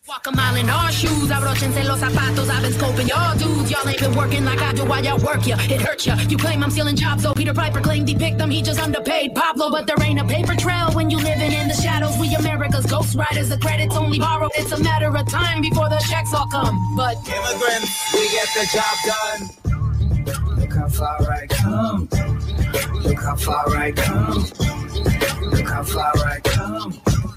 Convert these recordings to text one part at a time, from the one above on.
Walk a mile in our shoes, abrochense los zapatos. I've been scoping y'all dudes. Y'all ain't been working like I do while y'all work ya. It hurts ya. You claim I'm stealing jobs, so Peter Piper claimed he picked them. He just underpaid Pablo, but there ain't a paper trail when you living in the shadows. We America's ghost riders. The credits only borrowed. It's a matter of time before the checks all come. But immigrants, we get the job done. Look how far I come. Look how far I come. Look how far I come.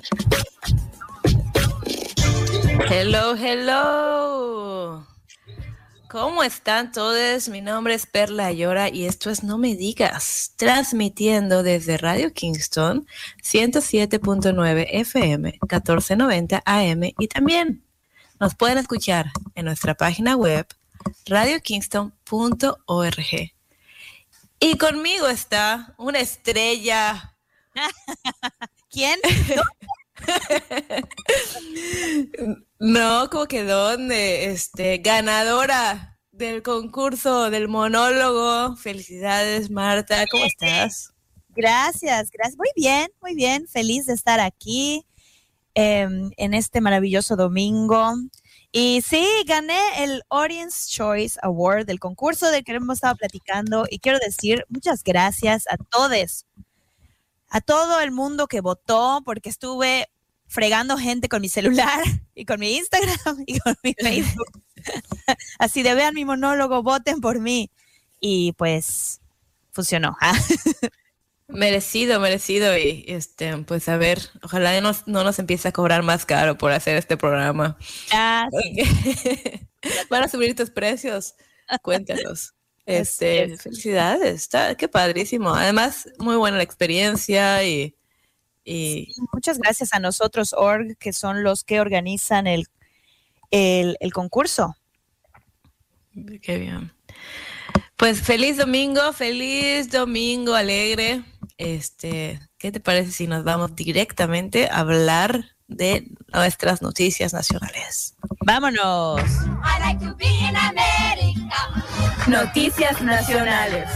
Hello, hello. ¿Cómo están todos? Mi nombre es Perla Ayora y esto es No Me Digas, transmitiendo desde Radio Kingston 107.9 FM, 1490 AM y también nos pueden escuchar en nuestra página web radiokingston.org. Y conmigo está una estrella. ¿Quién? No, como que dónde, ganadora del concurso del monólogo. Felicidades, Marta, ¿cómo estás? Gracias. Muy bien, feliz de estar aquí en este maravilloso domingo. Y sí, gané el Audience Choice Award del concurso del que hemos estado platicando y quiero decir muchas gracias a todos, a todo el mundo que votó, porque estuve fregando gente con mi celular y con mi Instagram y con mi Facebook. Así de vean mi monólogo, voten por mí. Y pues funcionó. Merecido. Y pues a ver, ojalá no nos empiece a cobrar más caro por hacer este programa. Sí. ¿Van a subir tus precios? Cuéntanos. Felicidades, qué padrísimo. Además, muy buena la experiencia y sí, muchas gracias a nosotros, org, que son los que organizan el concurso. Qué bien. Pues feliz domingo alegre. ¿Qué te parece si nos vamos directamente a hablar de nuestras noticias nacionales? ¡Vámonos! I like to be in America. Noticias nacionales.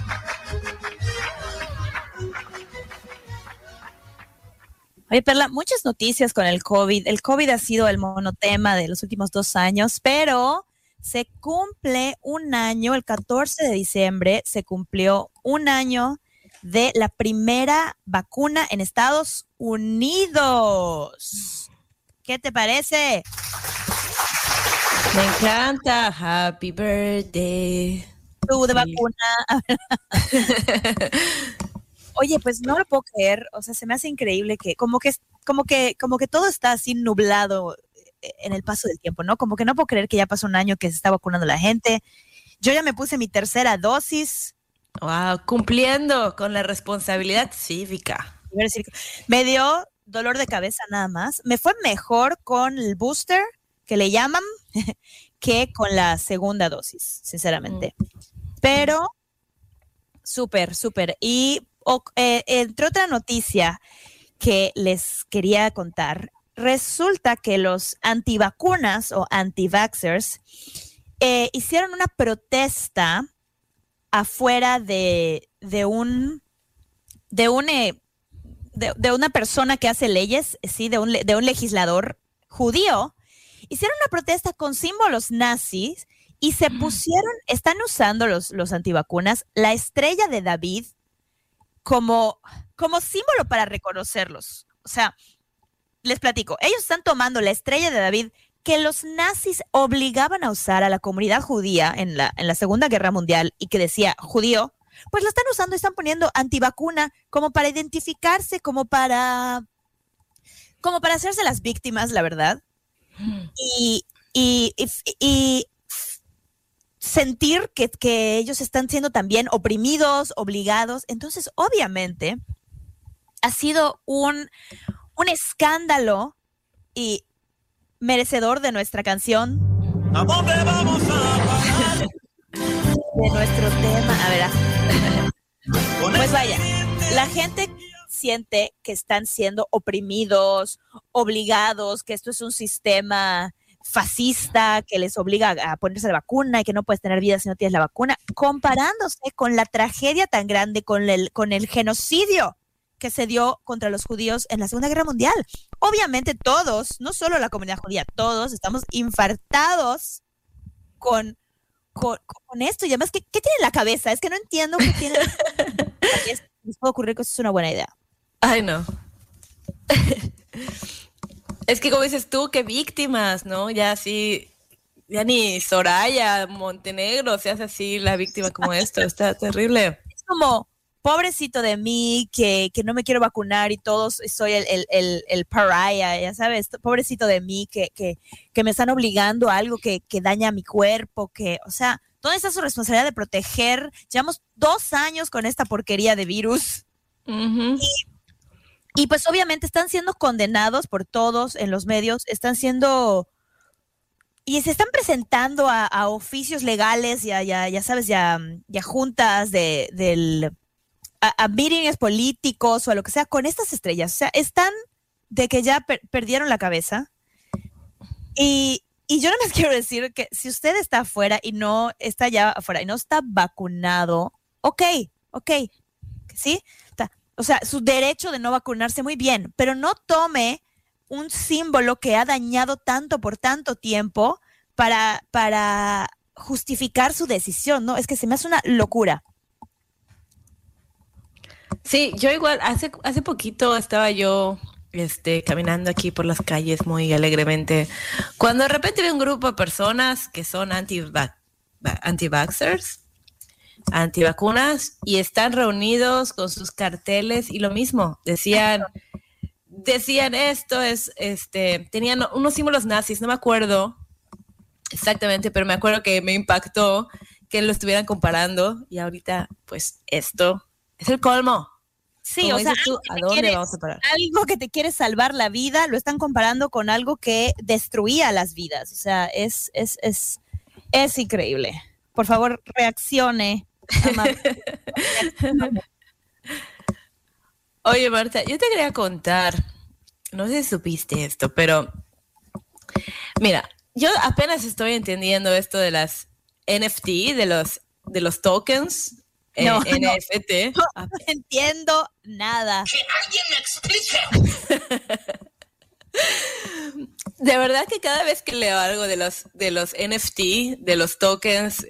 Oye, Perla, muchas noticias con el COVID. El COVID ha sido el monotema de los últimos 2 años, pero se cumple un año, el 14 de diciembre, se cumplió un año de la primera vacuna en Estados Unidos. ¿Qué te parece? Me encanta. Happy birthday. Tú de vacuna. Oye, pues no lo puedo creer, o sea, se me hace increíble que como que todo está así nublado en el paso del tiempo, ¿no? Como que no puedo creer que ya pasó un año que se está vacunando la gente. Yo ya me puse mi 3ª dosis. Wow, cumpliendo con la responsabilidad cívica. Me dio dolor de cabeza nada más. Me fue mejor con el booster, que le llaman, que con la 2ª dosis, sinceramente. Pero súper. Y entre otra noticia que les quería contar, resulta que los antivacunas o anti-vaxxers hicieron una protesta afuera de una persona que hace leyes, sí, de un legislador judío. Hicieron una protesta con símbolos nazis y están usando los antivacunas la estrella de David como símbolo para reconocerlos. O sea, les platico, ellos están tomando la estrella de David que los nazis obligaban a usar a la comunidad judía en la Segunda Guerra Mundial y que decía judío, pues lo están usando y están poniendo antivacuna como para identificarse, como para hacerse las víctimas, la verdad. Y sentir que ellos están siendo también oprimidos, obligados. Entonces, obviamente, ha sido un escándalo y merecedor de nuestra canción. ¿A dónde vamos a parar? De nuestro tema. A ver. Pues vaya, la gente siente que están siendo oprimidos, obligados, que esto es un sistema fascista que les obliga a ponerse la vacuna y que no puedes tener vida si no tienes la vacuna, comparándose con la tragedia tan grande, con el genocidio que se dio contra los judíos en la Segunda Guerra Mundial. Obviamente todos, no solo la comunidad judía, todos estamos infartados con esto. Y además, ¿qué tiene en la cabeza? Es que no entiendo qué tiene. Les puede ocurrir que eso es una buena idea. Ay, no. Es que como dices tú, qué víctimas, ¿no? Ya así, ya ni Soraya Montenegro se hace así la víctima como esto. Está terrible. Es como, pobrecito de mí, que no me quiero vacunar y todos soy el pariah, ya sabes, pobrecito de mí, que me están obligando a algo que daña mi cuerpo, o sea, ¿dónde está su responsabilidad de proteger? Llevamos 2 años con esta porquería de virus. Uh-huh. Y pues obviamente están siendo condenados por todos en los medios, están siendo... Y se están presentando a oficios legales y ya sabes, ya juntas a meetings políticos o a lo que sea, con estas estrellas. O sea, están de que ya perdieron la cabeza. Y yo nada más quiero decir que si usted está afuera y no está ya afuera y no está vacunado, ok, ¿sí? O sea, su derecho de no vacunarse, muy bien, pero no tome un símbolo que ha dañado tanto por tanto tiempo para justificar su decisión, ¿no? Es que se me hace una locura. Sí, yo igual, hace poquito estaba yo caminando aquí por las calles muy alegremente, cuando de repente vi un grupo de personas que son anti-vaxxers, antivacunas, y están reunidos con sus carteles y lo mismo, decían esto es, tenían unos símbolos nazis, no me acuerdo exactamente, pero me acuerdo que me impactó que lo estuvieran comparando, y ahorita pues esto es el colmo. Sí, como o sea, tú, ¿a dónde vamos a parar? Algo que te quiere salvar la vida, lo están comparando con algo que destruía las vidas. O sea, es increíble. Por favor, reaccione. Oye, Marta, yo te quería contar, no sé si supiste esto, pero mira, yo apenas estoy entendiendo esto de las NFT, de los tokens. NFT. No entiendo nada. ¡Que alguien me explique! De verdad que cada vez que leo algo de los NFT, de los tokens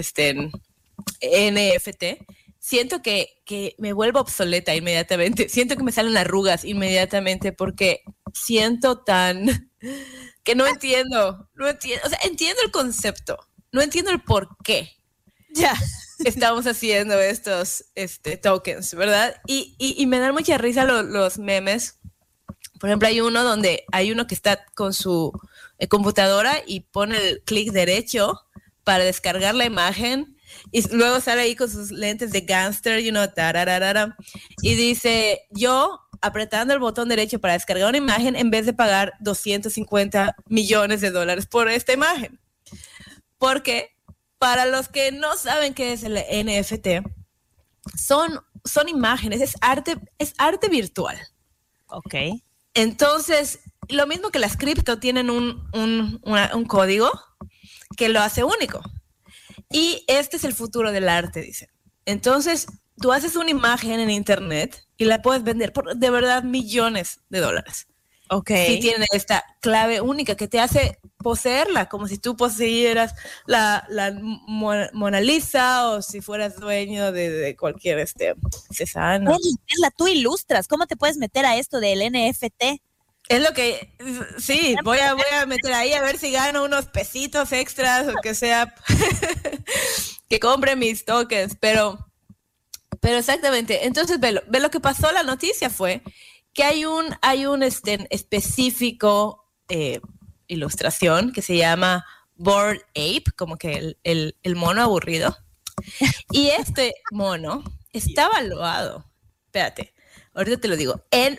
NFT, siento que me vuelvo obsoleta inmediatamente. Siento que me salen arrugas inmediatamente porque siento que no entiendo. O sea, entiendo el concepto, no entiendo el por qué. Ya. Estamos haciendo estos tokens, ¿verdad? Y me dan mucha risa los memes. Por ejemplo, hay uno que está con su computadora y pone el clic derecho para descargar la imagen, y luego sale ahí con sus lentes de gangster, tarararara, y dice, yo apretando el botón derecho para descargar una imagen en vez de pagar $250 millones por esta imagen. Porque para los que no saben qué es el NFT, son imágenes, es arte virtual. Ok. Entonces, lo mismo que las cripto, tienen un código que lo hace único. Y este es el futuro del arte, dicen. Entonces, tú haces una imagen en internet y la puedes vender por de verdad $millones. Ok. Si tiene esta clave única que te hace poseerla, como si tú poseyeras la Mona Lisa, o si fueras dueño de cualquier Cézanne. Tú ilustras, ¿cómo te puedes meter a esto del NFT? Es lo que, sí, voy a meter ahí a ver si gano unos pesitos extras o que sea, que compre mis tokens, pero exactamente. Entonces, ve lo que pasó. La noticia fue que hay un específico ilustración que se llama Bored Ape, como que el mono aburrido. Y este mono está valuado, espérate, ahorita te lo digo, en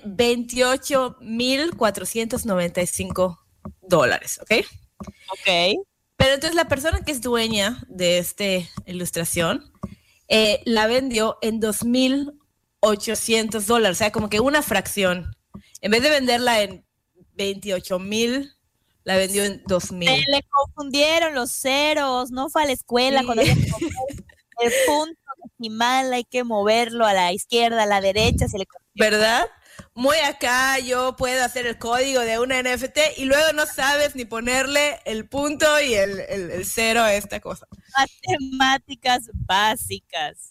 $28,495, ¿ok? Ok. Pero entonces la persona que es dueña de esta ilustración la vendió en $2,800, o sea, como que una fracción. En vez de venderla en 28,000, la vendió en 2,000. Se le confundieron los ceros, no fue a la escuela Sí. cuando había que poner el punto que decimal hay que moverlo a la izquierda, a la derecha, ¿verdad? Muy acá yo puedo hacer el código de una NFT y luego no sabes ni ponerle el punto y el cero a esta cosa. Matemáticas básicas.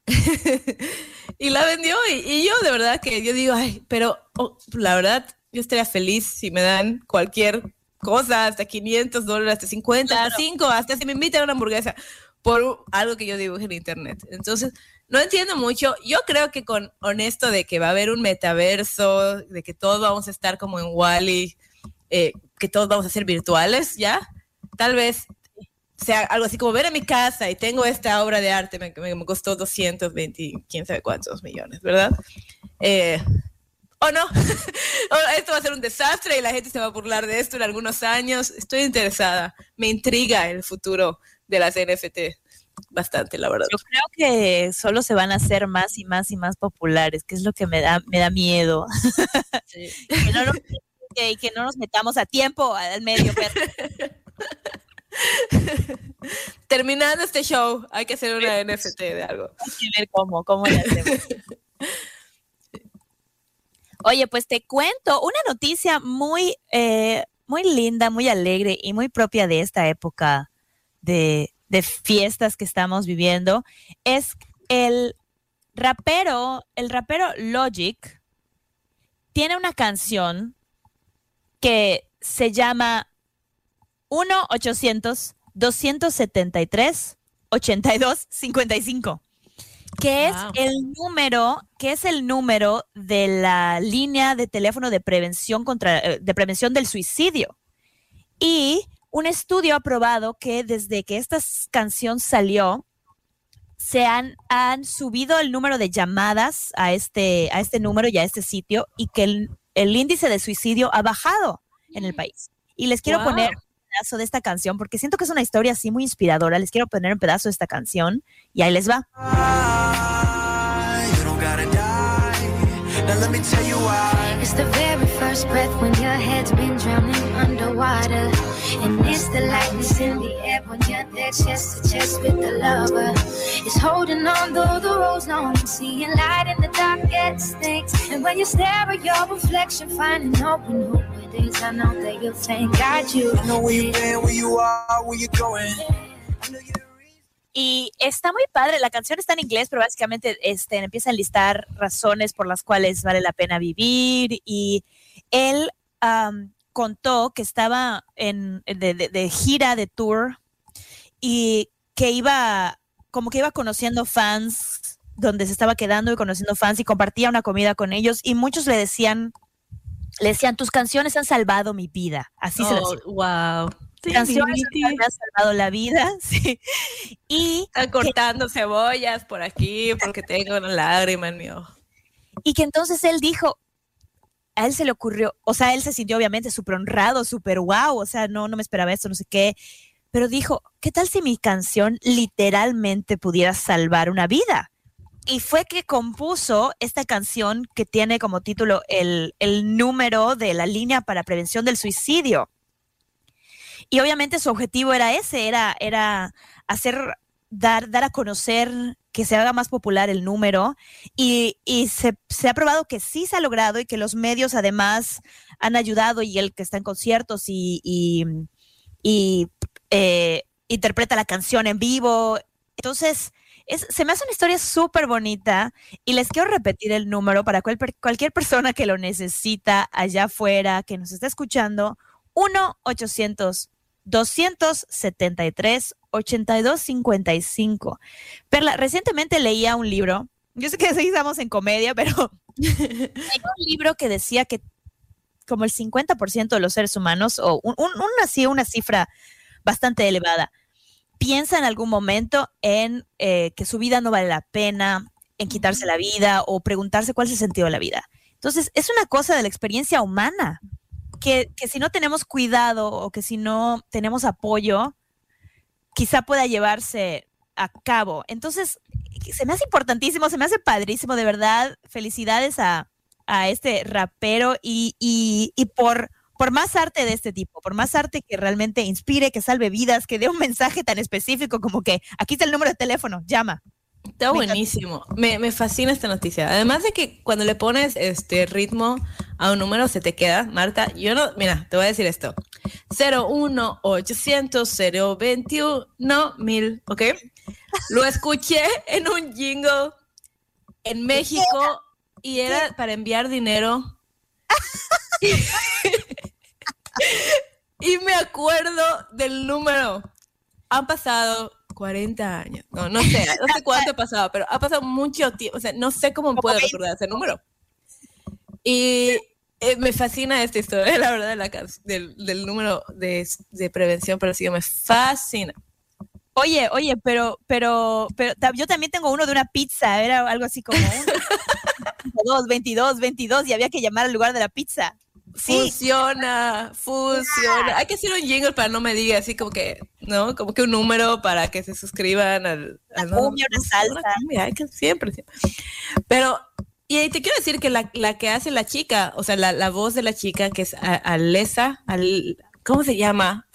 Y la vendió y yo de verdad que yo digo, ay, pero la verdad yo estaría feliz si me dan cualquier cosa, hasta $500, hasta 50, claro. hasta 5, hasta si me invitan a una hamburguesa por algo que yo dibuje en internet. Entonces, no entiendo mucho. Yo creo que con honesto de que va a haber un metaverso, de que todos vamos a estar como en Wall-E, que todos vamos a ser virtuales, ¿ya? Tal vez sea algo así como ver a mi casa y tengo esta obra de arte, me costó 220, quién sabe cuántos millones, ¿verdad? ¿O no? Esto va a ser un desastre y la gente se va a burlar de esto en algunos años. Estoy interesada. Me intriga el futuro de las NFT bastante, la verdad. Yo creo que solo se van a hacer más y más y más populares, que es lo que me da miedo. Sí. que no nos metamos a tiempo al medio. Terminando este show, hay que hacer una NFT de algo. Hay que ver cómo lo hacemos. Oye, pues te cuento una noticia muy linda, muy alegre y muy propia de esta época de fiestas que estamos viviendo. Es el rapero Logic tiene una canción que se llama 1-800-273-8255, que es el número de la línea de teléfono de prevención del suicidio. Y un estudio ha probado que desde que esta canción salió, se han subido el número de llamadas a este número y a este sitio, y que el índice de suicidio ha bajado en el país. Y les quiero poner un pedazo de esta canción, porque siento que es una historia así muy inspiradora. Les quiero poner un pedazo de esta canción y ahí les va. Now let me tell you why. It's the very first breath when your head's been drowning underwater. And it's the lightness in the air when you're there chest to chest with the lover. It's holding on though the road's long and seeing light in the darkest things. And when you stare at your reflection, finding hope in who it is, I know that you'll thank God you. I know where you've been, where you are, where you're going. Y está muy padre, la canción está en inglés, pero básicamente empieza a enlistar razones por las cuales vale la pena vivir. Y él contó que estaba de gira, de tour, y que iba conociendo fans, donde se estaba quedando y conociendo fans, y compartía una comida con ellos, y muchos le decían, tus canciones han salvado mi vida. Así se lo decía. Wow. Sí, canciones me han salvado la vida, sí. Y están cortando cebollas por aquí porque tengo una lágrima en mi ojo. Y que entonces él dijo, a él se le ocurrió, o sea, él se sintió obviamente súper honrado, súper wow, o sea, no me esperaba esto, no sé qué, pero dijo, ¿qué tal si mi canción literalmente pudiera salvar una vida? Y fue que compuso esta canción que tiene como título el número de la línea para prevención del suicidio. Y obviamente su objetivo era ese, era dar a conocer, que se haga más popular el número, y se ha probado que sí se ha logrado, y que los medios además han ayudado, y él que está en conciertos y interpreta la canción en vivo. Entonces, se me hace una historia súper bonita, y les quiero repetir el número para cualquier persona que lo necesita allá afuera, que nos está escuchando, 1-800-273-8255. Perla, recientemente leía un libro, yo sé que sí estamos en comedia, pero hay un libro que decía que como el 50% de los seres humanos, o una cifra bastante elevada, piensa en algún momento en que su vida no vale la pena, en quitarse la vida, o preguntarse cuál es el sentido de la vida. Entonces, es una cosa de la experiencia humana, que si no tenemos cuidado, o que si no tenemos apoyo, quizá pueda llevarse a cabo. Entonces, se me hace importantísimo, se me hace padrísimo, de verdad. Felicidades a este rapero, y por más arte de este tipo, por más arte que realmente inspire, que salve vidas, que dé un mensaje tan específico como que aquí está el número de teléfono, llama. Está buenísimo. Me fascina esta noticia. Además de que cuando le pones ritmo a un número se te queda, Marta. Mira, te voy a decir esto. 01800-021-1000, ¿ok? Lo escuché en un jingle en México y era para enviar dinero. Y me acuerdo del número. Han pasado 40 años. No sé cuánto ha pasado, pero ha pasado mucho tiempo. O sea, no sé cómo puedo recordar ese número. Y me fascina esta historia, la verdad, del número de prevención para el SIDA. Me fascina. Oye, pero yo también tengo uno de una pizza. Era algo así como 22, y había que llamar al lugar de la pizza. Sí. Funciona. Hay que hacer un jingle para no me diga así como que, ¿no? Como que un número para que se suscriban al cumbia, una salsa. Hay que siempre. Pero, y te quiero decir que la que hace la chica, o sea, la voz de la chica, que es Alessa, ¿cómo se llama?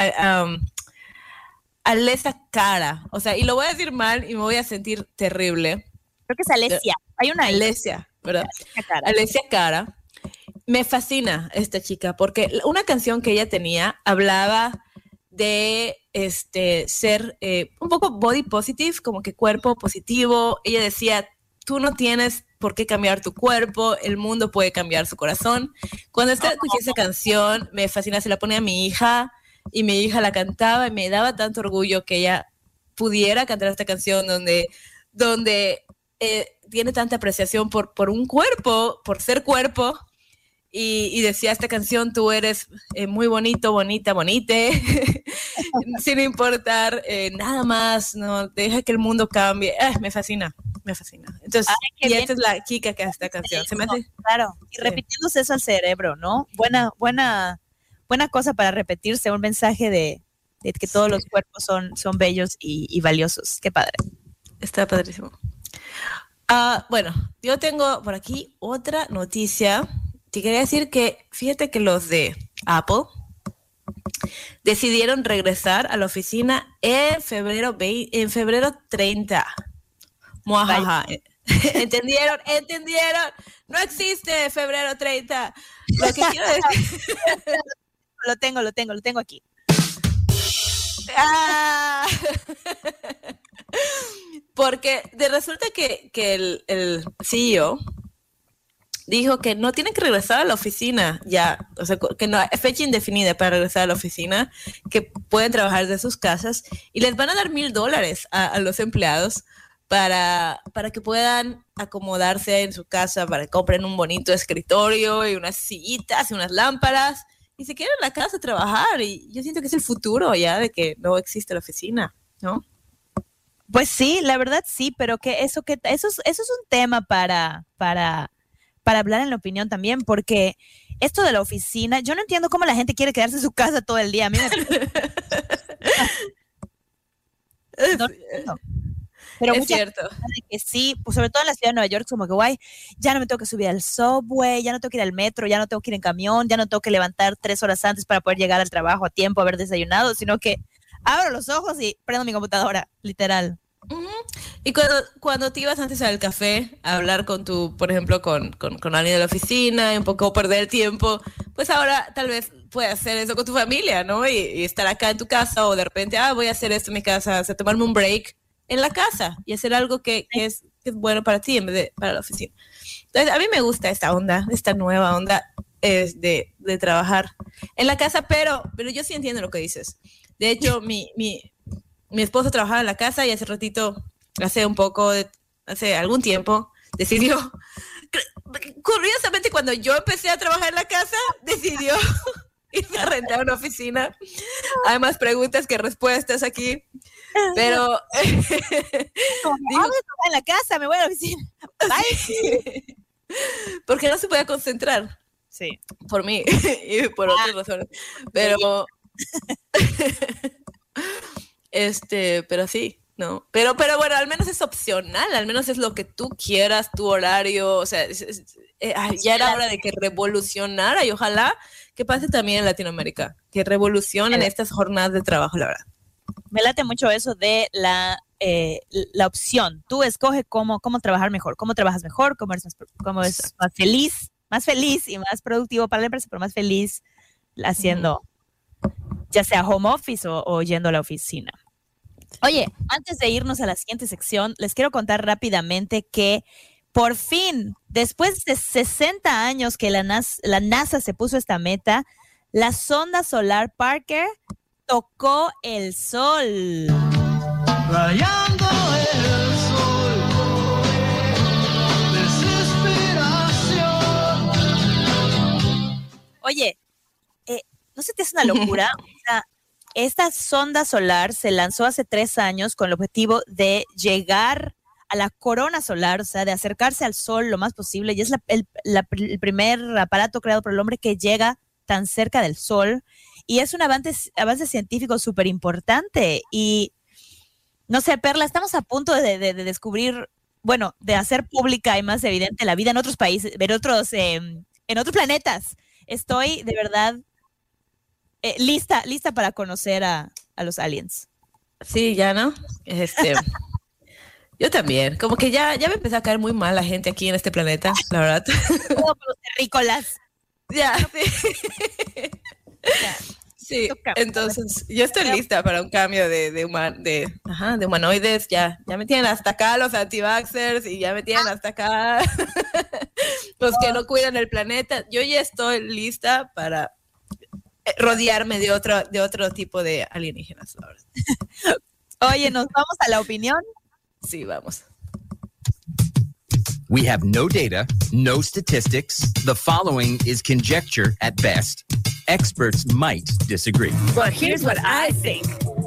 Alessa Cara. O sea, y lo voy a decir mal y me voy a sentir terrible. Creo que es Alessia. Hay una Alessia, ¿verdad? Alessia Cara. Me fascina esta chica porque una canción que ella tenía hablaba de ser un poco body positive, como que cuerpo positivo. Ella decía, tú no tienes por qué cambiar tu cuerpo, el mundo puede cambiar su corazón. Cuando escuché esa canción, me fascina, se la ponía a mi hija y mi hija la cantaba y me daba tanto orgullo que ella pudiera cantar esta canción donde tiene tanta apreciación por un cuerpo, por ser cuerpo. Y decía esta canción, tú eres muy bonito, bonita, bonite, sin importar nada más, no deja que el mundo cambie. Me fascina. Entonces, y esta es la chica que hace esta canción. ¿Se me hace? Claro, y repitiéndose eso al cerebro, ¿no? Buena cosa para repetirse, un mensaje de que todos los cuerpos son bellos y valiosos. Qué padre. Está padrísimo. Bueno, yo tengo por aquí otra noticia. Te quería decir que, fíjate que los de Apple decidieron regresar a la oficina en febrero 30. Muajaja. ¿Entendieron? No existe febrero 30. Lo que quiero decir... Lo tengo aquí. Porque resulta que el CEO dijo que no tienen que regresar a la oficina ya, o sea, que no hay fecha indefinida para regresar a la oficina, que pueden trabajar de sus casas y les van a dar $1,000 a los empleados para que puedan acomodarse en su casa, para que compren un bonito escritorio y unas sillitas y unas lámparas y se queden en la casa a trabajar. Y yo siento que es el futuro ya de que no existe la oficina, ¿no? Pues sí, la verdad sí, pero que eso es un tema para hablar en la opinión también, porque esto de la oficina, yo no entiendo cómo la gente quiere quedarse en su casa todo el día. A mí no. Pero es cierto. Que sí, pues sobre todo en la ciudad de Nueva York, como que guay, ya no me tengo que subir al subway, ya no tengo que ir al metro, ya no tengo que ir en camión, ya no tengo que levantar 3 horas antes para poder llegar al trabajo a tiempo, haber desayunado, sino que abro los ojos y prendo mi computadora, literal. Uh-huh. Y cuando te ibas antes al café a hablar con por ejemplo, con alguien de la oficina y un poco perder el tiempo, pues ahora tal vez puedes hacer eso con tu familia, ¿no? Y estar acá en tu casa o de repente, voy a hacer esto en mi casa, o sea, tomarme un break en la casa y hacer algo que es bueno para ti en vez de para la oficina. Entonces, a mí me gusta esta nueva onda de trabajar en la casa, pero yo sí entiendo lo que dices. De hecho, mi esposo trabajaba en la casa y hace algún tiempo, decidió, curiosamente cuando yo empecé a trabajar en la casa, decidió irme a rentar una oficina. Hay más preguntas que respuestas aquí, pero digo, en la casa, me voy a la oficina. Bye. Porque no se podía concentrar. Sí. Por mí y por otras razones. Pero pero sí, ¿no? Pero bueno, al menos es opcional, al menos es lo que tú quieras, tu horario, o sea, ya era hora de que revolucionara y ojalá que pase también en Latinoamérica, que revolucionen estas jornadas de trabajo, la verdad. Me late mucho eso de la la opción. Tú escoge cómo trabajar mejor, cómo trabajas mejor, cómo eres más feliz y más productivo para la empresa, pero más feliz haciendo ya sea home office o yendo a la oficina. Oye, antes de irnos a la siguiente sección, les quiero contar rápidamente que por fin, después de 60 años que la NASA se puso esta meta, la sonda solar Parker tocó el sol. Rayando el sol, desesperación. Oye, ¿no se te hace una locura? O sea, esta sonda solar se lanzó hace 3 años con el objetivo de llegar a la corona solar, o sea, de acercarse al sol lo más posible, y es el primer aparato creado por el hombre que llega tan cerca del sol, y es un avance científico súper importante. Y no sé, Perla, estamos a punto de descubrir, bueno, de hacer pública y más evidente la vida en otros países, en otros planetas. Estoy de verdad lista para conocer a los aliens. Sí, ya, ¿no? Yo también. Como que ya me empezó a caer muy mal la gente aquí en este planeta, la verdad. Como los terrícolas. Ya, sí. Sí, entonces yo estoy lista para un cambio de humanoides. Ya me tienen hasta acá los anti-vaxxers y ya me tienen hasta acá los que no cuidan el planeta. Yo ya estoy lista para rodearme de otro tipo de alienígenas, la verdad. Oye, ¿nos vamos a la opinión? Sí, vamos. We have no data, no statistics. The following is conjecture at best. Experts might disagree. But here's what I think.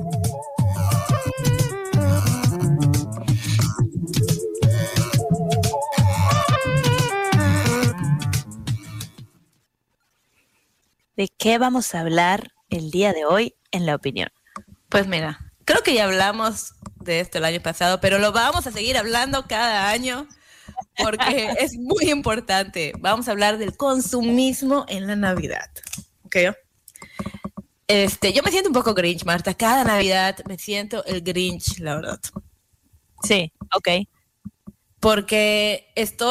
¿De qué vamos a hablar el día de hoy en la opinión? Pues mira, creo que ya hablamos de esto el año pasado, pero lo vamos a seguir hablando cada año porque es muy importante. Vamos a hablar del consumismo en la Navidad. ¿Ok? Yo me siento un poco Grinch, Marta. Cada Navidad me siento el Grinch, la verdad. Sí, ok. Porque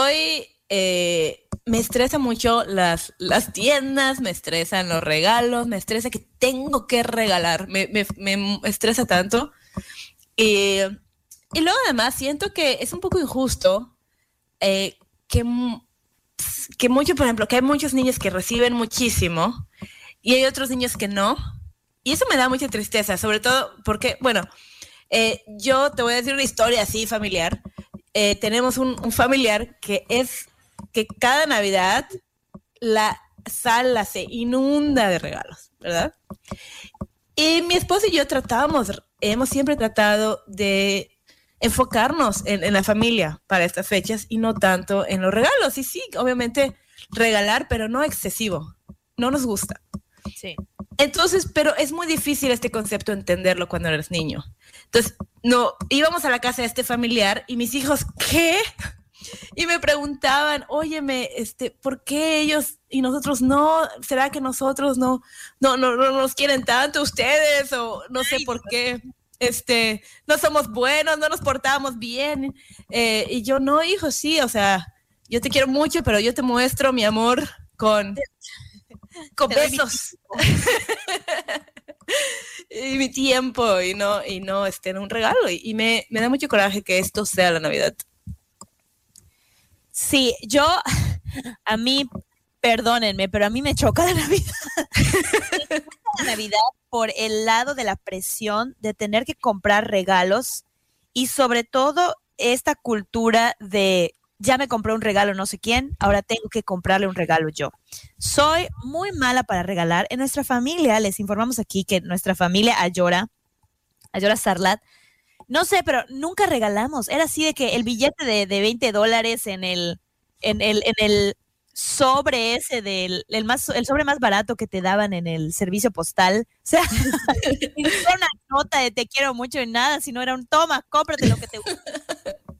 me estresa mucho las tiendas, me estresan los regalos, me estresa que tengo que regalar, me estresa tanto. Y luego además siento que es un poco injusto que mucho, por ejemplo, que hay muchos niños que reciben muchísimo y hay otros niños que no. Y eso me da mucha tristeza, sobre todo porque, bueno, yo te voy a decir una historia así familiar. Tenemos un familiar que cada Navidad la sala se inunda de regalos, ¿verdad? Y mi esposo y yo hemos siempre tratado de enfocarnos en la familia para estas fechas y no tanto en los regalos. Y sí, obviamente regalar, pero no excesivo. No nos gusta. Sí. Entonces, pero es muy difícil este concepto entenderlo cuando eres niño. Entonces, íbamos a la casa de este familiar y mis hijos, ¿qué? Y me preguntaban, óyeme, ¿por qué ellos y nosotros no? ¿Será que nosotros no nos quieren tanto ustedes? O no sé por qué. No somos buenos, no nos portamos bien. Y yo, no, hijo, sí, o sea, yo te quiero mucho, pero yo te muestro mi amor con besos. Y mi tiempo, y no un regalo. Y me da mucho coraje que esto sea la Navidad. Sí, a mí, perdónenme, pero a mí me choca la Navidad. La Navidad por el lado de la presión de tener que comprar regalos y sobre todo esta cultura de ya me compré un regalo no sé quién, ahora tengo que comprarle un regalo yo. Soy muy mala para regalar. En nuestra familia, les informamos aquí que nuestra familia Ayora Sarlat, no sé, pero nunca regalamos. Era así de que el billete de $20 en el sobre ese el sobre más barato que te daban en el servicio postal. O sea, no era una nota de te quiero mucho y nada, sino era un toma, cómprate lo que te gusta.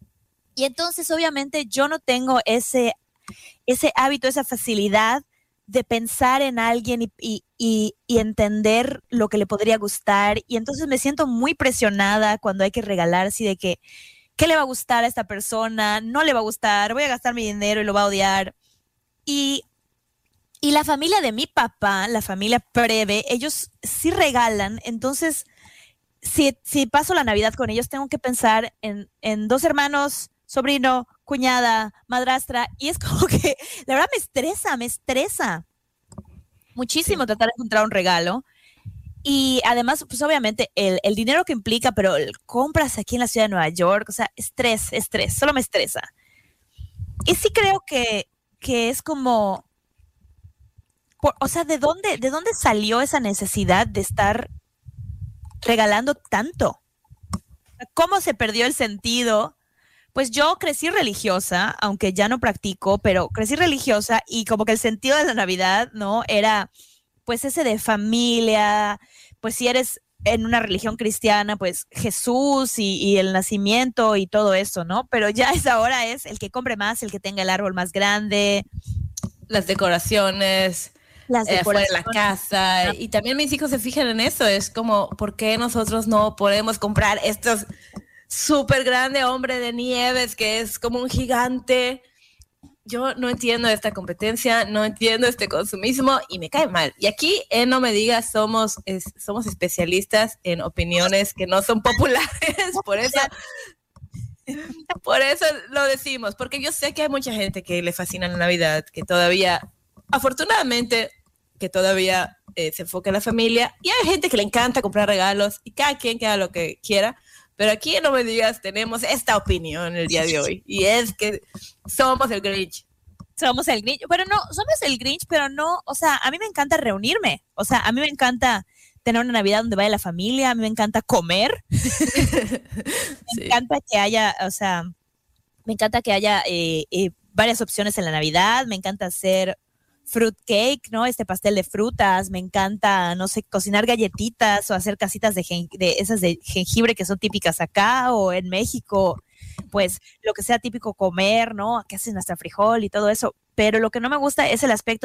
Y entonces, obviamente, yo no tengo ese hábito, esa facilidad de pensar en alguien y entender lo que le podría gustar. Y entonces me siento muy presionada cuando hay que regalar, así de que, ¿qué le va a gustar a esta persona? No le va a gustar, voy a gastar mi dinero y lo va a odiar. Y la familia de mi papá, la familia Preve, ellos sí regalan. Entonces, si paso la Navidad con ellos, tengo que pensar en 2 hermanos, sobrino, cuñada, madrastra, y es como que, la verdad, me estresa muchísimo tratar de encontrar un regalo. Y además, pues obviamente, el dinero que implica, pero compras aquí en la ciudad de Nueva York, o sea, estrés, solo me estresa. Y sí creo que es como, o sea, ¿de dónde salió esa necesidad de estar regalando tanto? ¿Cómo se perdió el sentido? Pues yo crecí religiosa, aunque ya no practico, pero crecí religiosa y como que el sentido de la Navidad, ¿no? Era pues ese de familia, pues si eres en una religión cristiana, pues Jesús y el nacimiento y todo eso, ¿no? Pero ya ahora es el que compre más, el que tenga el árbol más grande. Las decoraciones. Fuera de la casa. Y también mis hijos se fijan en eso. Es como, ¿por qué nosotros no podemos comprar estos súper grande hombre de nieves que es como un gigante? Yo no entiendo esta competencia, no entiendo este consumismo y me cae mal. Y aquí en No Me Digas somos especialistas en opiniones que no son populares. Por eso lo decimos, porque yo sé que hay mucha gente que le fascina la Navidad, que todavía, afortunadamente, que todavía se enfoca en la familia, y hay gente que le encanta comprar regalos y cada quien que haga lo que quiera. Pero aquí en No Me Digas tenemos esta opinión el día de hoy, y es que somos el Grinch. Somos el Grinch, pero no, somos el Grinch, pero no, o sea, a mí me encanta reunirme, o sea, a mí me encanta tener una Navidad donde vaya la familia, a mí me encanta comer, me encanta que haya, o sea, me encanta que haya varias opciones en la Navidad, me encanta hacer fruit cake, ¿no? Este pastel de frutas, me encanta, no sé, cocinar galletitas o hacer casitas de esas de jengibre que son típicas acá o en México, pues lo que sea típico comer, ¿no? Que hacen hasta frijol y todo eso, pero lo que no me gusta es el aspecto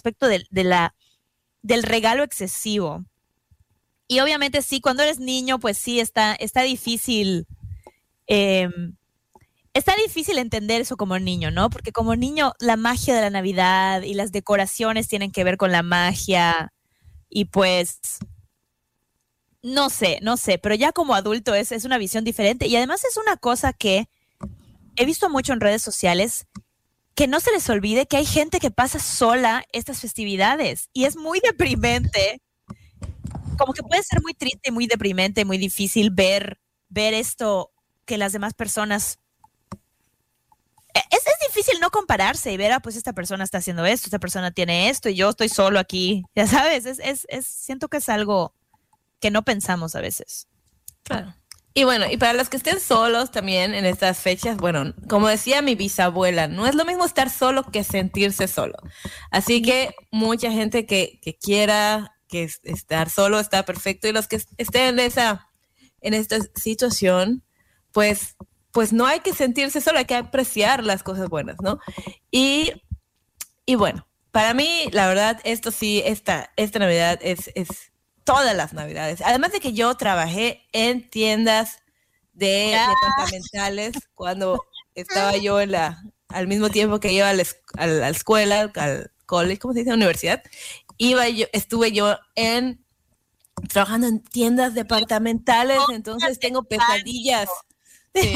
del regalo excesivo. Y obviamente sí, cuando eres niño, pues sí, está difícil, está difícil entender eso como niño, ¿no? Porque como niño, la magia de la Navidad y las decoraciones tienen que ver con la magia y pues, no sé, pero ya como adulto es una visión diferente y además es una cosa que he visto mucho en redes sociales, que no se les olvide que hay gente que pasa sola estas festividades y es muy deprimente. Como que puede ser muy triste, muy deprimente, muy difícil ver esto que las demás personas... Es difícil no compararse y ver, pues esta persona está haciendo esto, esta persona tiene esto y yo estoy solo aquí, ya sabes, siento que es algo que no pensamos a veces. Claro. Y bueno, y para los que estén solos también en estas fechas, bueno, como decía mi bisabuela, no es lo mismo estar solo que sentirse solo. Así que mucha gente que quiera que estar solo está perfecto y los que estén en esta situación, pues no hay que sentirse solo, hay que apreciar las cosas buenas, ¿no? Y bueno, para mí, la verdad, esto sí, esta Navidad es todas las Navidades. Además de que yo trabajé en tiendas departamentales cuando estaba yo al mismo tiempo que iba a la escuela, al college, ¿cómo se dice? Universidad. Estuve yo trabajando en tiendas departamentales, entonces tengo pesadillas. Sí.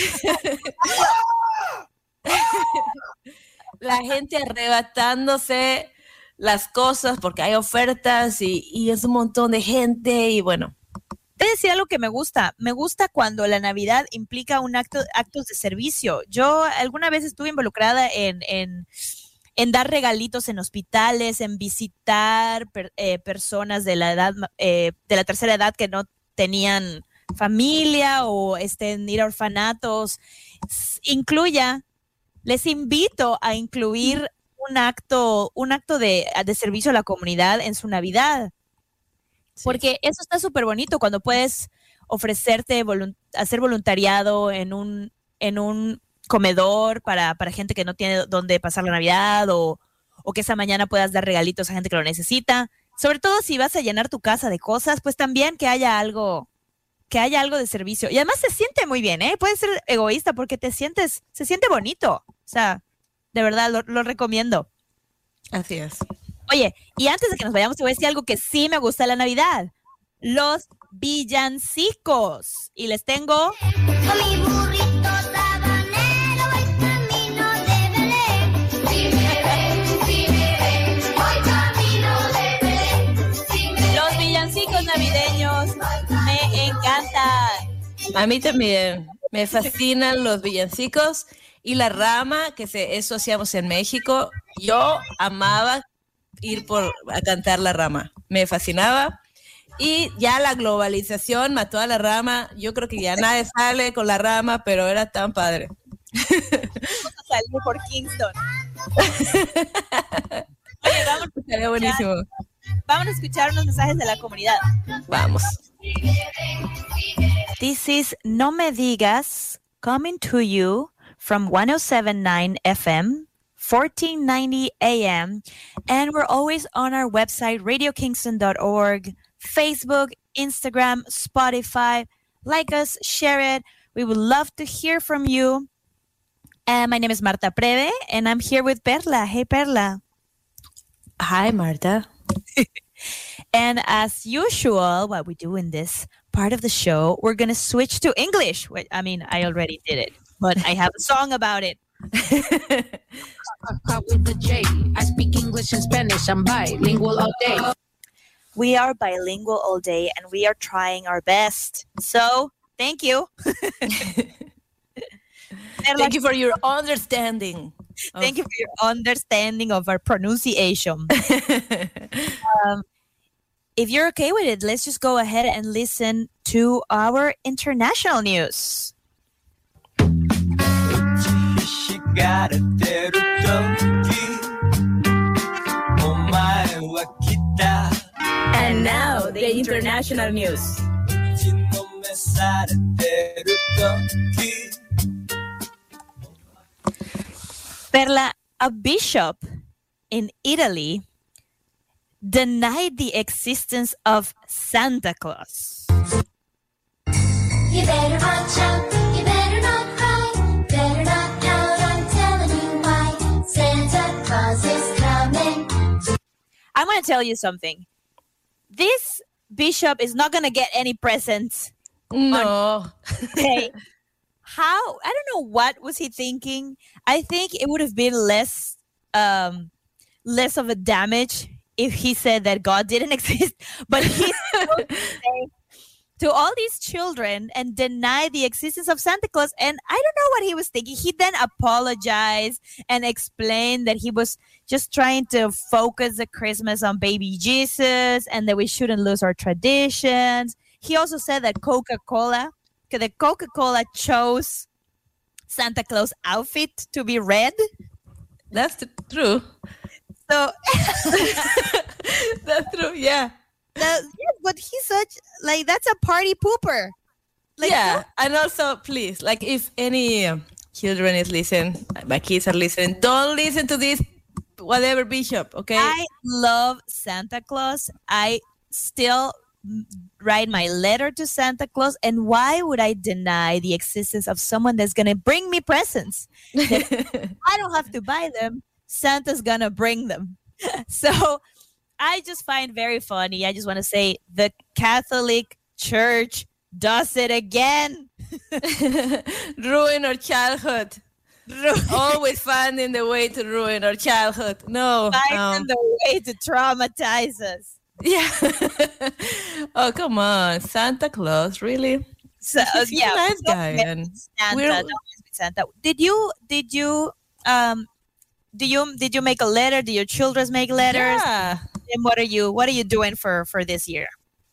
La gente arrebatándose las cosas porque hay ofertas y es un montón de gente y bueno. Te decía algo que me gusta cuando la Navidad implica actos de servicio. Yo alguna vez estuve involucrada en dar regalitos en hospitales, en visitar personas de la edad, de la tercera edad que no tenían familia o en ir a orfanatos. Les invito a incluir un acto de servicio a la comunidad en su Navidad. Sí. Porque eso está súper bonito cuando puedes ofrecerte hacer voluntariado en un comedor para gente que no tiene dónde pasar la Navidad o o que esa mañana puedas dar regalitos a gente que lo necesita. Sobre todo si vas a llenar tu casa de cosas, pues también que haya algo de servicio. Y además se siente muy bien, ¿eh? Puedes ser egoísta porque se siente bonito. O sea, de verdad, lo recomiendo. Así es. Oye, y antes de que nos vayamos, te voy a decir algo que sí me gusta de la Navidad. Los villancicos. Y les tengo... Con mi burrito sabanero voy camino de Belén. Si me ven, voy camino de Belén. Los villancicos navideños me encantan. A mí también. Me fascinan los villancicos y la rama, eso hacíamos en México. Yo amaba ir a cantar la rama. Me fascinaba. Y ya la globalización mató a la rama. Yo creo que ya nadie sale con la rama, pero era tan padre. Vamos a salir por Kingston. Oye, Sería buenísimo. Vamos a escuchar unos mensajes de la comunidad. Vamos. This is No Me Digas, coming to you from 107.9 FM, 1490 AM, and we're always on our website, radiokingston.org, Facebook, Instagram, Spotify. Like us, share it. We would love to hear from you. My name is Marta Preve, and I'm here with Perla. Hey, Perla. Hi, Marta. And as usual, what we do in this part of the show, we're going to switch to English. I mean, I already did it, but I have a song about it. With the J. I speak English and Spanish. I'm bilingual all day. We are bilingual all day, and we are trying our best. So, thank you. Thank you for your understanding. Thank you for your understanding of our pronunciation. If you're okay with it, let's just go ahead and listen to our international news. And now, the international news. Perla, a bishop in Italy denied the existence of Santa Claus. You better watch out, you better not cry, better not pout, I'm telling you why. Santa Claus is coming. I'm going to tell you something. This bishop is not going to get any presents. No. Okay. I don't know what was he thinking. I think it would have been less of a damage if he said that God didn't exist. But he's supposed to say to all these children and deny the existence of Santa Claus. And I don't know what he was thinking. He then apologized and explained that he was just trying to focus the Christmas on baby Jesus and that we shouldn't lose our traditions. He also said that the Coca-Cola chose Santa Claus outfit to be red. That's true. So that's true, yeah. But he's that's a party pooper. Yeah, and also, please, if any children is listening, my kids are listening, don't listen to this whatever bishop, okay? I love Santa Claus. I still write my letter to Santa Claus, and why would I deny the existence of someone that's going to bring me presents? I don't have to buy them. Santa's going to bring them. So I just find very funny. I just want to say the Catholic Church does it again. Ruin our childhood. Always finding the way to ruin our childhood. No. Finding the way to traumatize us. Yeah. Oh, come on. Santa Claus, really? He's a nice guy. And Santa. Did you make a letter? Do your children make letters? Yeah. And what are you doing for this year?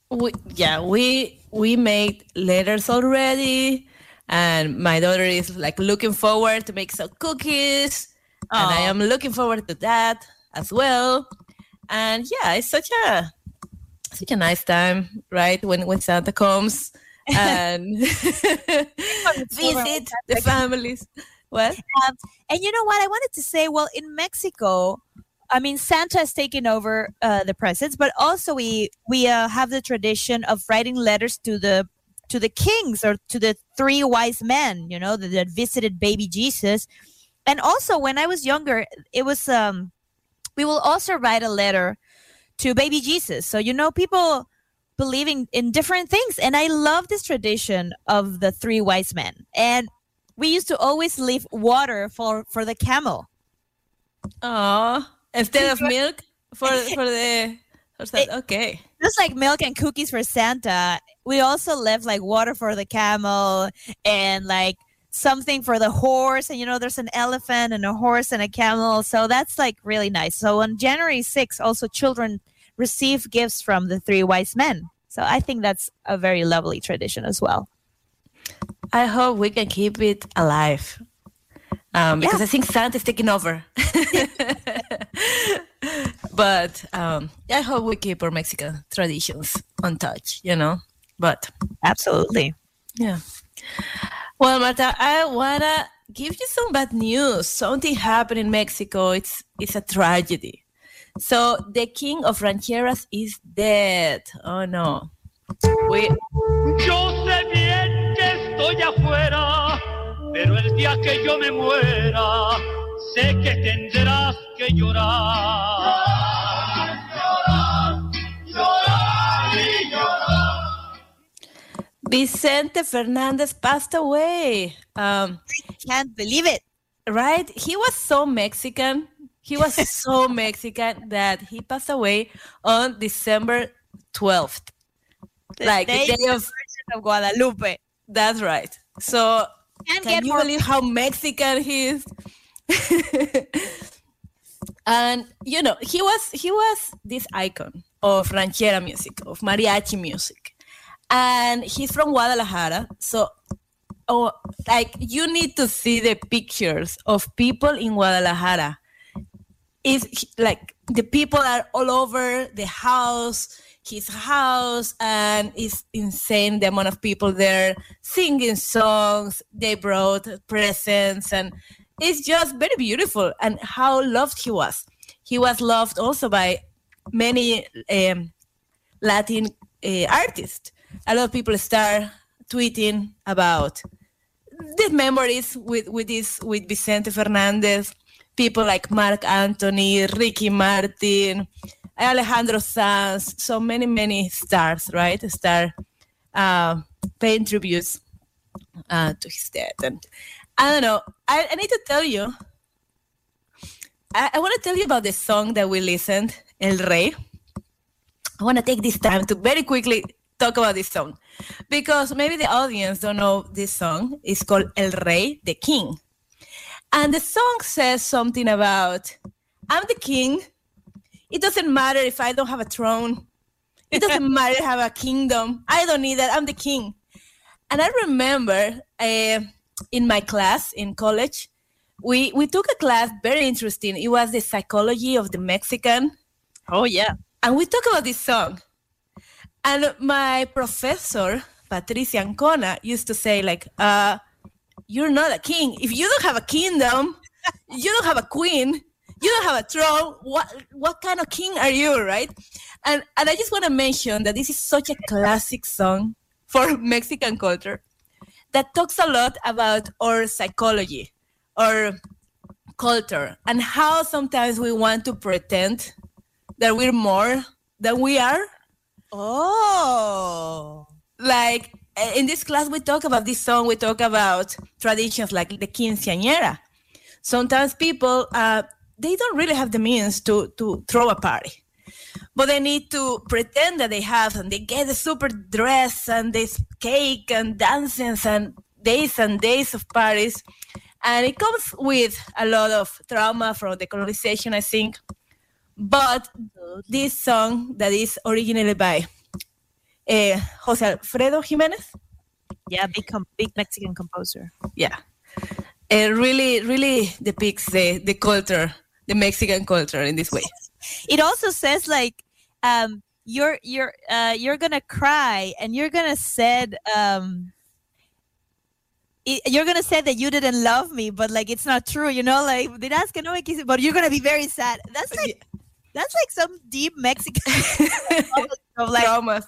We made letters already, and my daughter is looking forward to make some cookies, and I am looking forward to that as well. And yeah, it's such a nice time, right? When Santa comes and visit the families. What? And you know what? I wanted to say, well, in Mexico, I mean, Santa is taking over the presents, but also we have the tradition of writing letters to the kings or to the three wise men, that visited baby Jesus. And also, when I was younger, it was we will also write a letter to baby Jesus. So people believing in different things, and I love this tradition of the three wise men. And we used to always leave water for the camel. Oh, instead of milk okay. Just like milk and cookies for Santa, we also left like water for the camel and like something for the horse. And there's an elephant and a horse and a camel. So that's like really nice. So on January 6th, also children receive gifts from the three wise men. So I think that's a very lovely tradition as well. I hope we can keep it alive. Because I think Santa's taking over. But I hope we keep our Mexican traditions untouched, But absolutely. Yeah. Well, Marta, I want to give you some bad news. Something happened in Mexico. It's a tragedy. So the king of rancheras is dead. Oh, no. Yo sé bien que estoy afuera, pero el día que yo me muera, sé que tendrás que llorar. Llorar, llorar y llorar. Vicente Fernandez passed away. Can't believe it. Right? He was so Mexican. He was so Mexican that he passed away on December 12th. The day of Guadalupe. That's right. So can you believe how Mexican he is? And he was this icon of ranchera music, of mariachi music, and he's from Guadalajara. So you need to see the pictures of people in Guadalajara. It's like the people are all over his house, and it's insane the amount of people there singing songs. They brought presents, and it's just very beautiful. And how loved he was. He was loved also by many Latin artists. A lot of people start tweeting about the memories with Vicente Fernandez. People like Marc Anthony, Ricky Martin, Alejandro Sanz, so many stars, right? Paying tributes to his death. And I don't know, I need to tell you, I want to tell you about the song that we listened, El Rey. I want to take this time to very quickly talk about this song, because maybe the audience don't know this song. It's called El Rey, the King. And the song says something about, I'm the king. It doesn't matter if I don't have a throne. It doesn't matter if I have a kingdom. I don't need that. I'm the king. And I remember in my class in college, we took a class very interesting. It was the psychology of the Mexican. Oh, yeah. And we talked about this song. And my professor, Patricia Ancona, used to say, like, you're not a king. If you don't have a kingdom, you don't have a queen, you don't have a throne, what kind of king are you, right? And I just want to mention that this is such a classic song for Mexican culture that talks a lot about our psychology, our culture, and how sometimes we want to pretend that we're more than we are. Oh. Like, in this class, we talk about this song. We talk about traditions like the quinceañera. Sometimes people, they don't really have the means to throw a party, but they need to pretend that they have, and they get a super dress and this cake and dances and days of parties. And it comes with a lot of trauma from the colonization, I think. But this song that is originally by Jose Alfredo Jimenez. Yeah, big Mexican composer. Yeah. It really depicts the culture, the Mexican culture in this way. It also says like you're gonna cry and you're gonna said you're gonna say that you didn't love me, but like it's not true, you know, like dirás que no me quise, but you're gonna be very sad. That's like some deep Mexican of like traumas.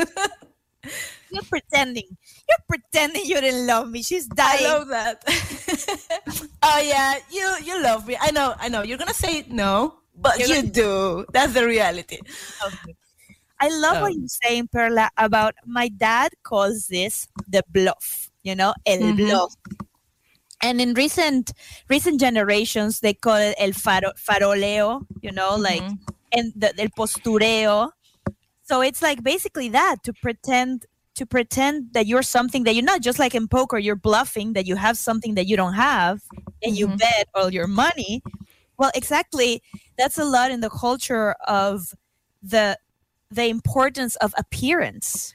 You're pretending you didn't love me. She's dying. I love that. Oh yeah, you love me. I know. You're gonna say no, but you do. That's the reality. Okay. I love what you're saying, Perla, about my dad calls this the bluff. You know, el bluff. And in recent generations, they call it el faroleo, you know, like, and el postureo. So it's like basically that, to pretend that you're something that you're not. Just like in poker, you're bluffing that you have something that you don't have, and you bet all your money. Well, exactly. That's a lot in the culture of the importance of appearance.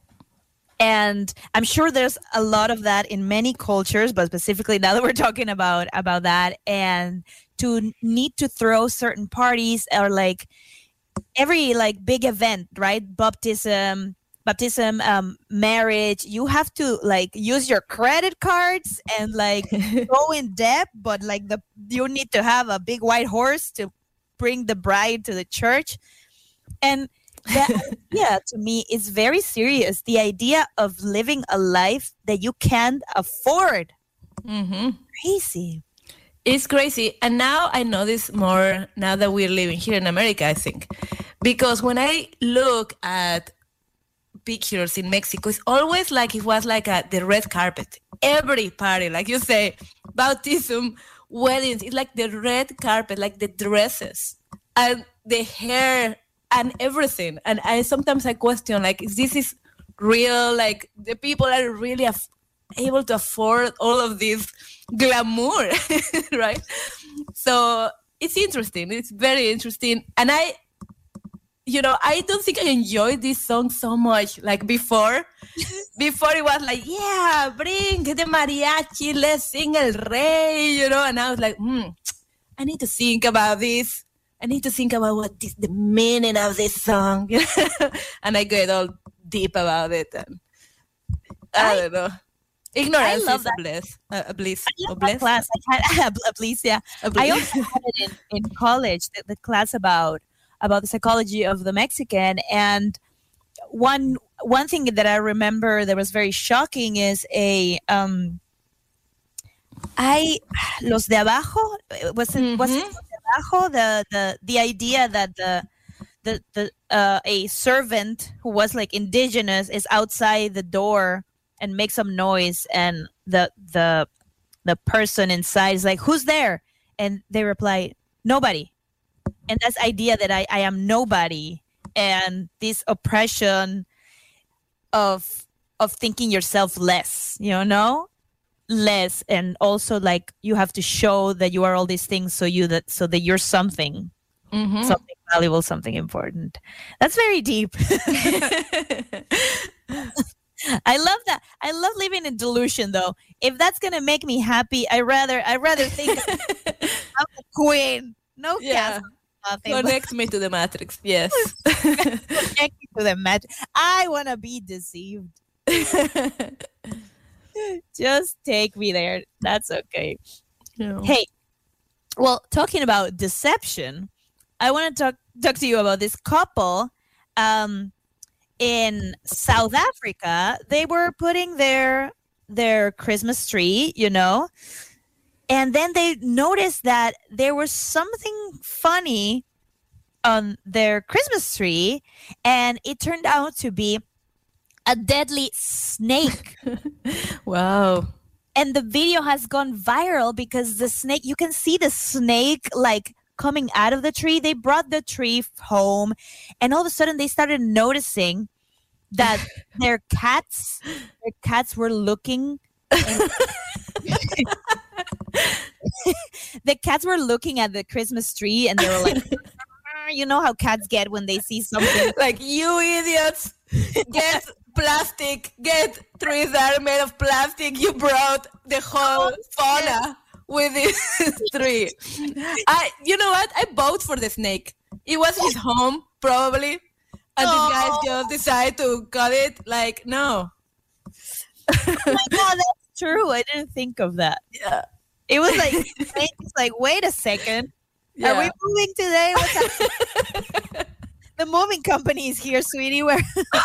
And I'm sure there's a lot of that in many cultures, but specifically now that we're talking about that, and to need to throw certain parties or like every like big event, right? Baptism, marriage, you have to like use your credit cards and like go in debt, but like you need to have a big white horse to bring the bride to the church. And that idea to me is very serious. The idea of living a life that you can't afford. Crazy. It's crazy. And now I know this more now that we're living here in America, I think. Because when I look at pictures in Mexico, it's always like it was like the red carpet. Every party, like you say, baptism, weddings, it's like the red carpet, like the dresses and the hair and everything. And sometimes I question, like, is this real? Like, the people are really able to afford all of this glamour, right? So it's interesting. It's very interesting. And I don't think I enjoyed this song so much. Like before it was like, yeah, bring the mariachi, let's sing El Rey, you know. And I was like, I need to think about this. I need to think about what is the meaning of this song. And I get all deep about it. And I don't know. Ignorance is a bliss. I love that class. I had a bliss, yeah. I also had it in college, the class about the psychology of the Mexican. And one thing that I remember that was very shocking is los de abajo, was it los de abajo, the idea that a servant who was like indigenous is outside the door and makes some noise, and the person inside is like, who's there? And they reply, nobody. And that's idea that I am nobody, and this oppression of thinking yourself less, you know, less, and also like you have to show that you are all these things so that you're something, something valuable, something important. That's very deep. I love that. I love living in delusion, though. If that's gonna make me happy, I rather think I'm a queen. No castle. Connect me to the Matrix. Yes. Connect me to the Matrix. I want to be deceived. Just take me there. That's okay. No. Hey, well, talking about deception, I want to talk to you about this couple. In South Africa, they were putting their Christmas tree, you know, and then they noticed that there was something funny on their Christmas tree, and it turned out to be a deadly snake. Wow. And the video has gone viral because the snake, you can see the snake like coming out of the tree. They brought the tree home, and all of a sudden they started noticing that their cats were looking. The cats were looking at the Christmas tree, and they were like, you know how cats get when they see something. Like, you idiots, get plastic, get trees that are made of plastic. You brought the whole fauna with this tree. You know what? I vote for the snake. It was his home, probably. And these guys just decide to cut it. Like, no. Oh my God, that's true. I didn't think of that. Yeah. It was like, it's like, wait a second. Yeah. Are we moving today? What's happening? The moving company is here, sweetie. Where?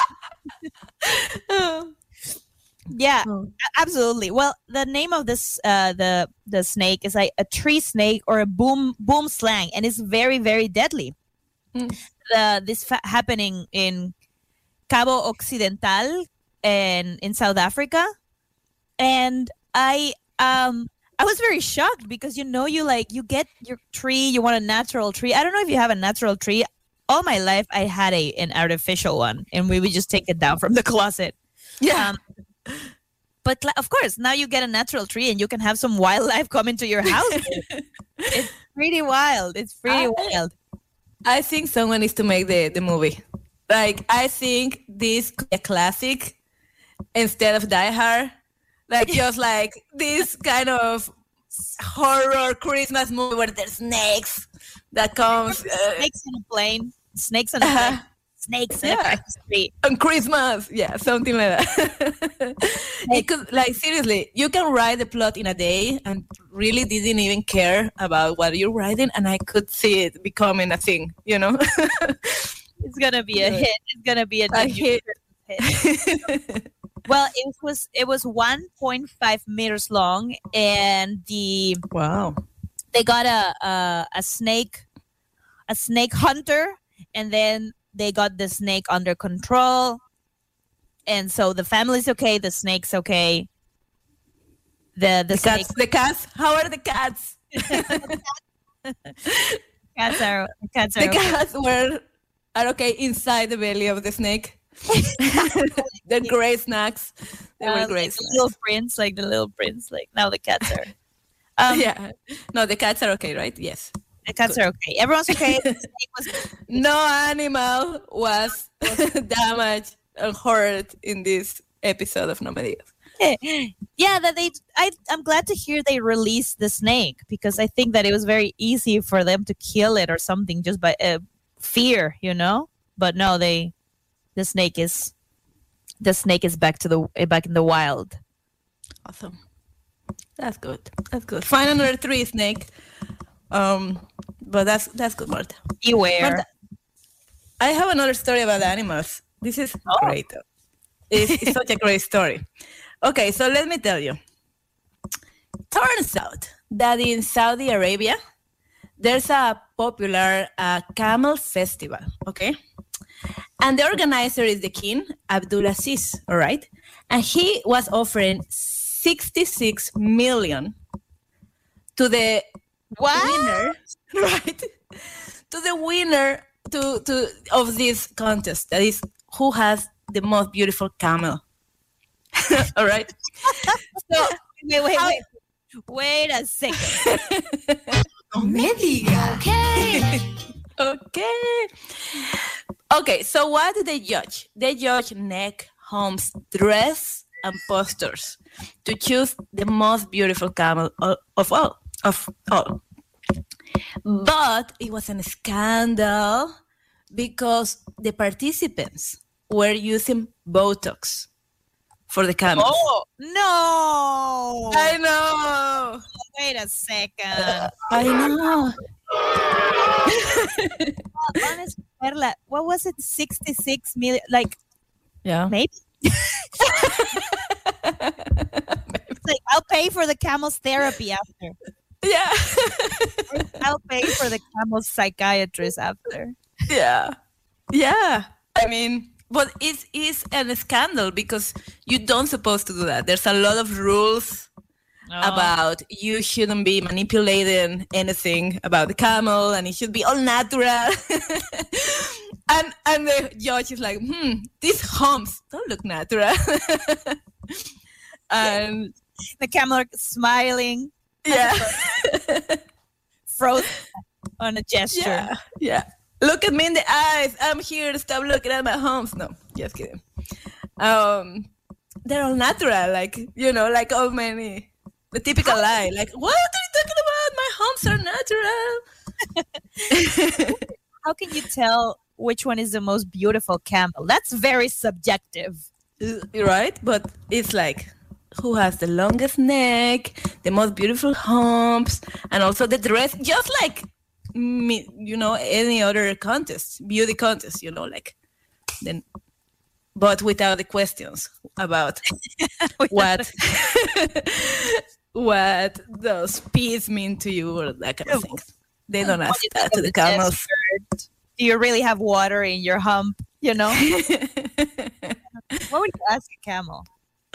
Yeah, absolutely. Well, the name of this the snake is like a tree snake or a boom slang, and it's very, very deadly. This happening in Cabo Occidental and in South Africa, and I was very shocked because you get your tree, you want a natural tree. I don't know if you have a natural tree. All my life I had an artificial one, and we would just take it down from the closet. Yeah. But of course, now you get a natural tree and you can have some wildlife come into your house. It's pretty wild. It's pretty wild. I think someone needs to make the movie. Like, I think this could be a classic instead of Die Hard. Like, just like this kind of horror Christmas movie where there's snakes that comes. Snakes in a plane. Snakes in a plane. Snakes in a street. On Christmas. Yeah, something like that. It could, like, seriously, you can write the plot in a day and really didn't even care about what you're writing, and I could see it becoming a thing, you know? It's going to be a hit. It's going to be a hit. Well, it was 1.5 meters long, and they got a snake hunter, and then they got the snake under control, and so the family's okay, the snake's okay. The cats. How are the cats? The cats are okay inside the belly of the snake. They're great snacks. They were great. Like the little prince. Like now the cats are. Yeah. No, the cats are okay, right? Yes. The cats are okay. Everyone's okay. No animal was damaged or hurt in this episode of No Me Digas. Yeah, I'm glad to hear they released the snake, because I think that it was very easy for them to kill it or something just by fear, you know. But no, the snake is back in the wild. Awesome. That's good. Find another tree snake. But that's good, Marta. Beware. Marta, I have another story about animals. This is great. It's such a great story. Okay, so let me tell you. Turns out that in Saudi Arabia, there's a popular camel festival, okay? And the organizer is the king, Abdulaziz, all right? And he was offering 66 million to the winner, right? To the winner of this contest, that is, who has the most beautiful camel. All right? So, wait a second. No me digas. Okay, so what do they judge? They judge neck, humps, dress, and postures to choose the most beautiful camel of all. But it was a scandal because the participants were using Botox for the camels. Oh, no. I know. Wait a second. I know. Honestly, Perla, what was it? 66 million? Like, yeah. Maybe? It's like, I'll pay for the camel's therapy after. Yeah. I'll pay for the camel's psychiatrist after. Yeah. Yeah. I mean, but it's a scandal because you don't supposed to do that. There's a lot of rules about you shouldn't be manipulating anything about the camel, and it should be all natural. and the judge is like, these humps don't look natural. And the camel smiling. Yeah. Frozen on a gesture. Yeah. Look at me in the eyes. I'm here to stop looking at my humps. No, just kidding. They're all natural, like, you know, like all many. The typical lie, like, what are you talking about? My humps are natural. How can you tell which one is the most beautiful camel? That's very subjective. Right? But it's like, who has the longest neck, the most beautiful humps, and also the dress, just like any other contest, beauty contest, like then, but without the questions about what those P's mean to you or that kind of thing. They don't ask that to the camels. Do you really have water in your hump? What would you ask a camel?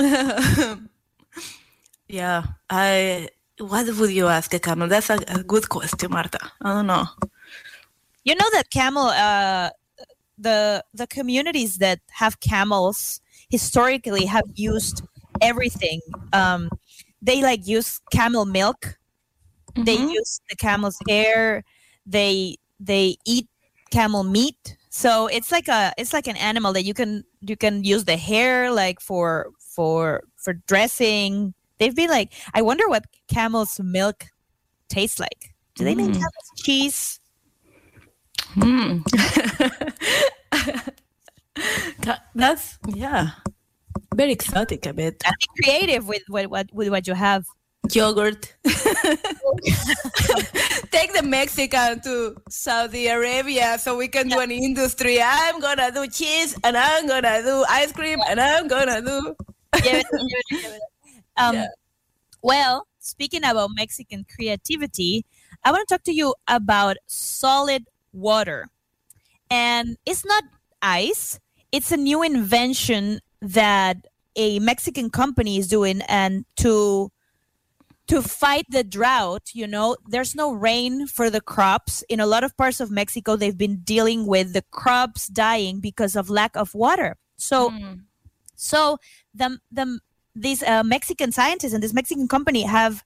Yeah, what would you ask a camel? That's a good question, Marta. I don't know. You know that camel, the communities that have camels historically have used everything. They use camel milk. Mm-hmm. They use the camel's hair. They eat camel meat. So it's like an animal that you can use the hair for dressing. They've been I wonder what camel's milk tastes like. Do they make camel's cheese? That's very exotic a bit. And be creative with what you have. Yogurt. Take the Mexican to Saudi Arabia so we can do an industry. I'm gonna do cheese and I'm gonna do ice cream and I'm gonna do. Well, speaking about Mexican creativity, I want to talk to you about solid water. And it's not ice. It's a new invention that a Mexican company is doing, and to fight the drought, there's no rain for the crops. In a lot of parts of Mexico, they've been dealing with the crops dying because of lack of water. So these Mexican scientists and this Mexican company have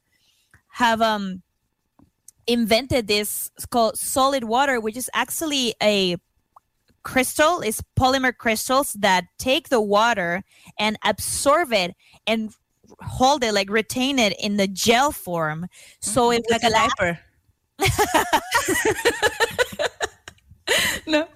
invented this called solid water, which is actually a crystal. It's polymer crystals that take the water and absorb it and hold it, retain it in the gel form. So it's like a diaper. No.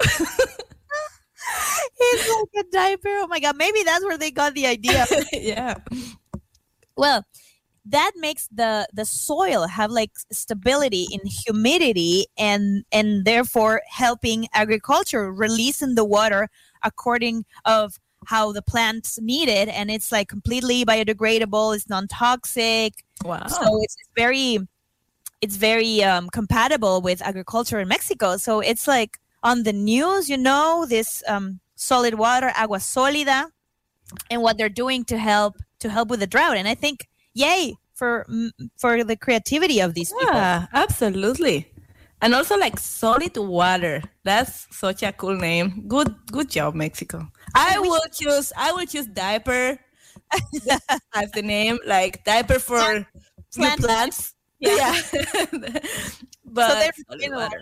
It's like a diaper. Oh my God. Maybe that's where they got the idea. Yeah. Well, that makes the soil have stability in humidity and therefore helping agriculture, releasing the water according of how the plants need it, and it's completely biodegradable. It's non-toxic. Wow! So it's very compatible with agriculture in Mexico. So it's on the news, this solid water, agua sólida, and what they're doing to help with the drought. And I think, yay for the creativity of these people. Yeah, absolutely. And also solid water. That's such a cool name. Good job, Mexico. I will choose diaper as the name, diaper for plants. Yeah. But so solid water.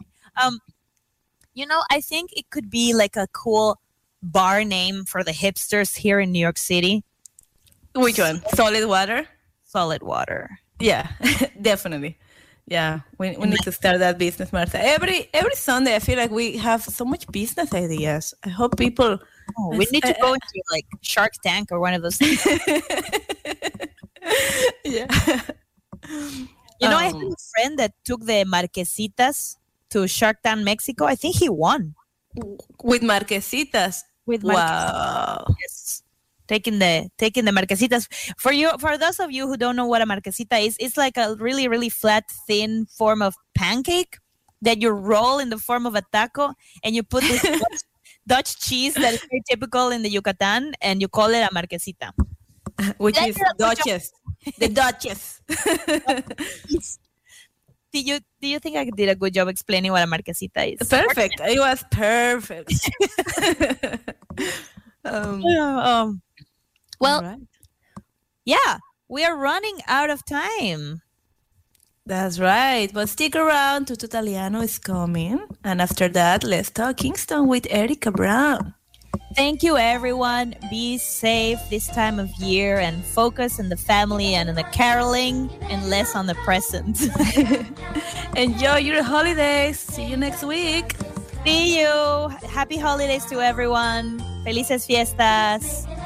I think it could be a cool bar name for the hipsters here in New York City. Which one? Solid water? Solid water. Yeah, definitely. Yeah, we need to start that business, Martha. Every Sunday, I feel like we have so much business ideas. I hope people... we need to go into Shark Tank or one of those things. Yeah. I have a friend that took the Marquesitas to Shark Tank, Mexico. I think he won. With Marquesitas? Wow. Yes. Taking the Marquesitas. For those of you who don't know what a Marquesita is, it's like a really, really flat, thin form of pancake that you roll in the form of a taco, and you put this Dutch cheese that is very typical in the Yucatan, and you call it a Marquesita. Which is Duchess. The Duchess. Do you think I did a good job explaining what a Marquesita is? Perfect. It was perfect. Well, right. Yeah, we are running out of time. That's right. But stick around. Tutto Italiano is coming. And after that, let's talk Kingston with Erica Brown. Thank you, everyone. Be safe this time of year and focus on the family and on the caroling and less on the present. Enjoy your holidays. See you next week. See you. Happy holidays to everyone. Felices fiestas.